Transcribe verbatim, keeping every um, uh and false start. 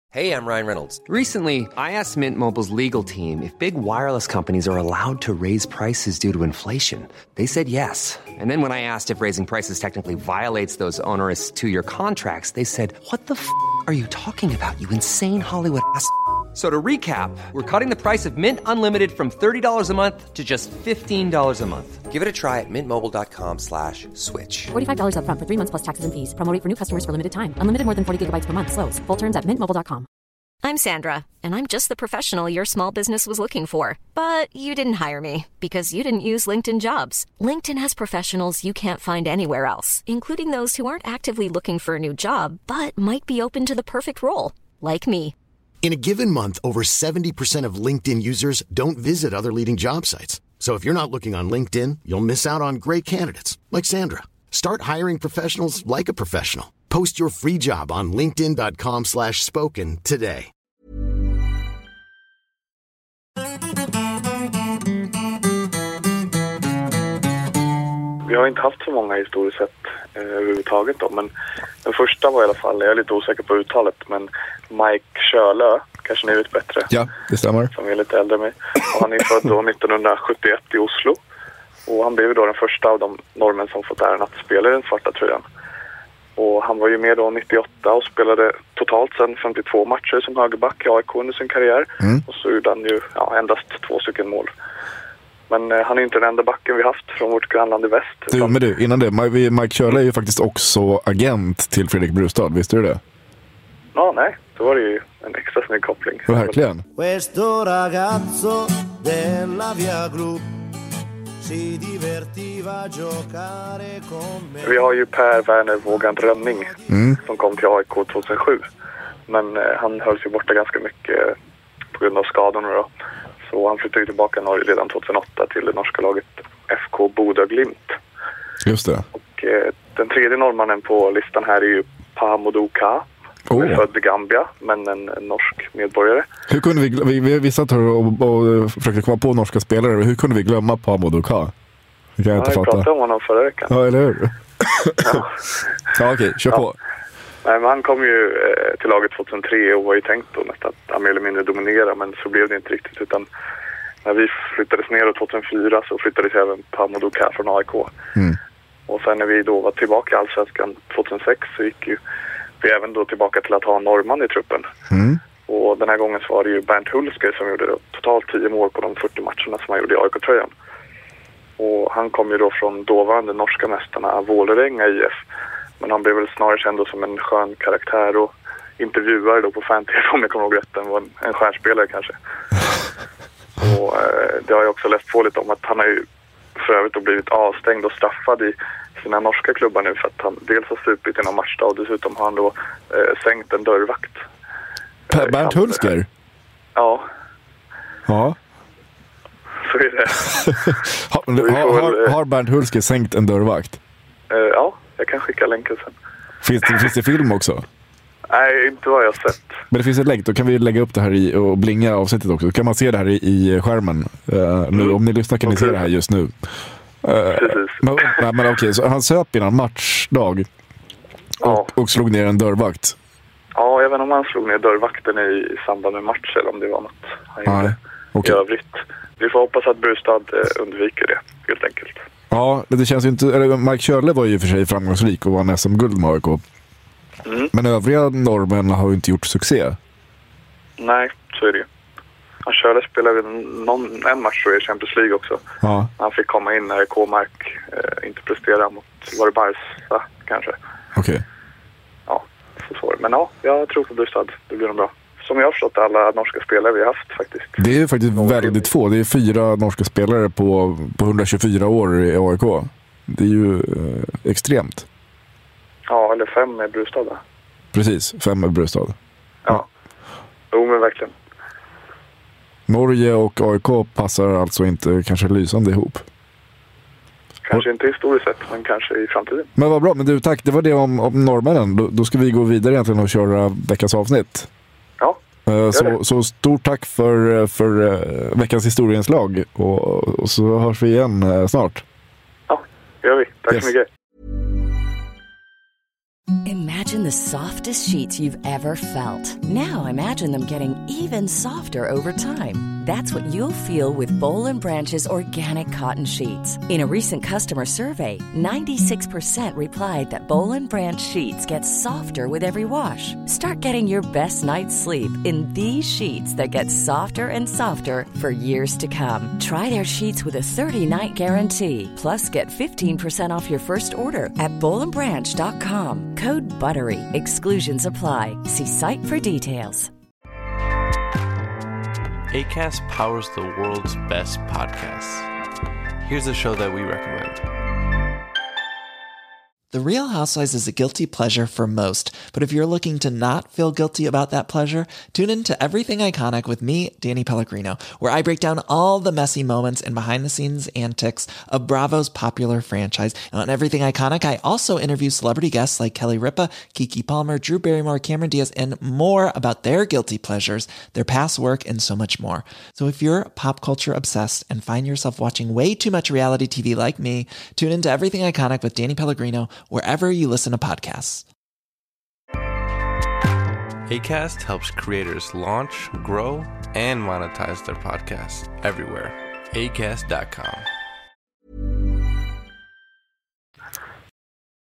Hey, I'm Ryan Reynolds. Recently, I asked Mint Mobile's legal team if big wireless companies are allowed to raise prices due to inflation. They said yes. And then when I asked if raising prices technically violates those onerous two-year contracts, they said, what the f*** are you talking about, you insane Hollywood ass f- So to recap, we're cutting the price of Mint Unlimited from thirty dollars a month to just fifteen dollars a month. Give it a try at mintmobile.com slash switch. forty-five dollars up front for three months plus taxes and fees. Promo rate for new customers for limited time. Unlimited more than forty gigabytes per month. Slows full terms at mint mobile dot com. I'm Sandra, and I'm just the professional your small business was looking for. But you didn't hire me because you didn't use LinkedIn Jobs. LinkedIn has professionals you can't find anywhere else, including those who aren't actively looking for a new job, but might be open to the perfect role, like me. In a given month, over seventy percent of LinkedIn users don't visit other leading job sites. So if you're not looking on LinkedIn, you'll miss out on great candidates like Sandra. Start hiring professionals like a professional. Post your free job on linkedin.com slash spoken today. Vi har inte haft så många historiskt sett eh, överhuvudtaget då, men den första var i alla fall, jag är lite osäker på uttalet, men Mike Kjölö, kanske ni vet bättre. Ja, det stämmer. Som är lite äldre än mig. Och han är född då nittonhundrasjuttioett i Oslo. Och han blev då den första av de norrmän som fått äran att spela i den svarta tröjan. Och han var ju med då nittioåtta och spelade totalt sedan femtiotvå matcher som högerback i A I K under sin karriär. Mm. Och så gjorde han ju ja, endast två stycken mål. Men eh, han är inte den enda backen vi haft från vårt grannland i väst. Du, utan... men du, innan det, Mike Kjölö är ju faktiskt också agent till Fredrik Brustad, visste du det? Ja, nej. Då var det ju en extra snygg koppling. Verkligen. Questo ragazzo della via Group si divertiva giocare con me. Vi har ju Per Werner Vågan Rönning mm. som kom till A I K tjugohundrasju. Men eh, han höll sig borta ganska mycket eh, på grund av skadorna då. Så han flyttade tillbaka Norge redan tjugohundraåtta till det norska laget F K Bodø Glimt. Just det. Och eh, den tredje norrmannen på listan här är ju Pahamodou Ka. Han är född i Gambia, men en, en norsk medborgare. Hur kunde vi, vi, vi, vi satt här och, och försökte komma på norska spelare. Hur kunde vi glömma Pahamodou Ka? Det kan jag inte ja, fatta. Jag pratade om honom förra veckan. Ja, eller hur? ja, ja okej, kör på. Ja. Nej, men han kom ju eh, till laget tjugohundratre och var ju tänkt då nästan att mer eller mindre dominera, men så blev det inte riktigt, utan när vi flyttades ner tjugohundrafyra så flyttades även Pahamodou Ka från A I K. Mm. Och sen när vi då var tillbaka i Allsvenskan tjugohundrasex så gick ju vi även då tillbaka till att ha en norrman i truppen. Mm. Och den här gången så var det ju Bernt Hulsker som gjorde totalt tio mål på de fyrtio matcherna som han gjorde i A I K-tröjan. Och han kom ju då från dåvarande norska mästarna Vålerenga I F. Men han blev väl snarare känd som en skön karaktär och intervjuare då på fan-tv om jag kommer ihåg rätt. Han var en, en stjärnspelare kanske. och eh, det har jag också läst på lite om att han har ju för övrigt då blivit avstängd och straffad i sina norska klubbar nu för att han dels har supit i någon matchdag och dessutom har han då eh, sänkt en dörrvakt. Per Bernt Hulsker? Ja. Ja. Så är det. har, har, har, har Bernt Hulsker sänkt en dörrvakt? Uh, ja, jag kan skicka länken sen. Finns det, finns det film också? Nej, inte vad jag har sett. Men det finns ett länk, då kan vi lägga upp det här i, och blinga avsnittet också. Då kan man se det här i, i skärmen. Uh, nu, mm. Om ni lyssnar kan ni se det här just nu. Uh, Precis. Men, nej, men okej, så han söp innan matchdag och, ja. och slog ner en dörrvakt. Ja, jag vet inte om han slog ner dörrvakten i, i samband med match eller om det var något han nej. gjorde Okay. i övrigt. Vi får hoppas att Brustad eh, undviker det, helt enkelt. Ja, det känns ju inte... Eller Mike Kjölö var ju för sig framgångsrik och vann S M-guld med A I K. Mm. Men övriga norrmän har ju inte gjort succé. Nej, så är det ju. Han Kjölö spelade någon, en match tror jag i Champions League också. Ja. Han fick komma in när K-Mark eh, inte presterade mot, var det Barca kanske? Okej. Okay. Ja, så svårt. Men ja, jag tror på Brustad. Det blir nog bra. Som jag har förstått alla norska spelare vi har haft faktiskt. Det är ju faktiskt Någon väldigt få. Det är fyra norska spelare på, på hundratjugofyra år i A I K. Det är ju eh, extremt. Ja, eller fem med Brustad. Precis, fem med Brustad. Ja, ja. Jo men verkligen. Norge och A I K passar alltså inte kanske lysande ihop. Kanske inte historiskt sett, men kanske i framtiden. Men vad bra, men du tack. Det var det om, om norrmännen. Då, då ska vi gå vidare egentligen och köra veckans avsnitt. Ja. Så, så stort tack för, för veckans historieinslag och, och så hörs vi igen snart. Ja, det gör vi. Tack yes. så mycket. Imagine the softest sheets you've ever felt. Now imagine them getting even softer over time. That's what you'll feel with Boll and Branch's organic cotton sheets. In a recent customer survey, ninety-six percent replied that Boll and Branch sheets get softer with every wash. Start getting your best night's sleep in these sheets that get softer and softer for years to come. Try their sheets with a thirty-night guarantee. Plus, get fifteen percent off your first order at boll and branch dot com. Code BUTTERY. Exclusions apply. See site for details. Acast powers the world's best podcasts. Here's a show that we recommend. The Real Housewives is a guilty pleasure for most, but if you're looking to not feel guilty about that pleasure, tune in to Everything Iconic with me, Danny Pellegrino, where I break down all the messy moments and behind-the-scenes antics of Bravo's popular franchise. And on Everything Iconic, I also interview celebrity guests like Kelly Ripa, Keke Palmer, Drew Barrymore, Cameron Diaz, and more about their guilty pleasures, their past work, and so much more. So if you're pop culture obsessed and find yourself watching way too much reality T V like me, tune in to Everything Iconic with Danny Pellegrino, wherever you listen to podcasts. Acast helps creators launch, grow, and monetize their podcasts everywhere. acast dot com.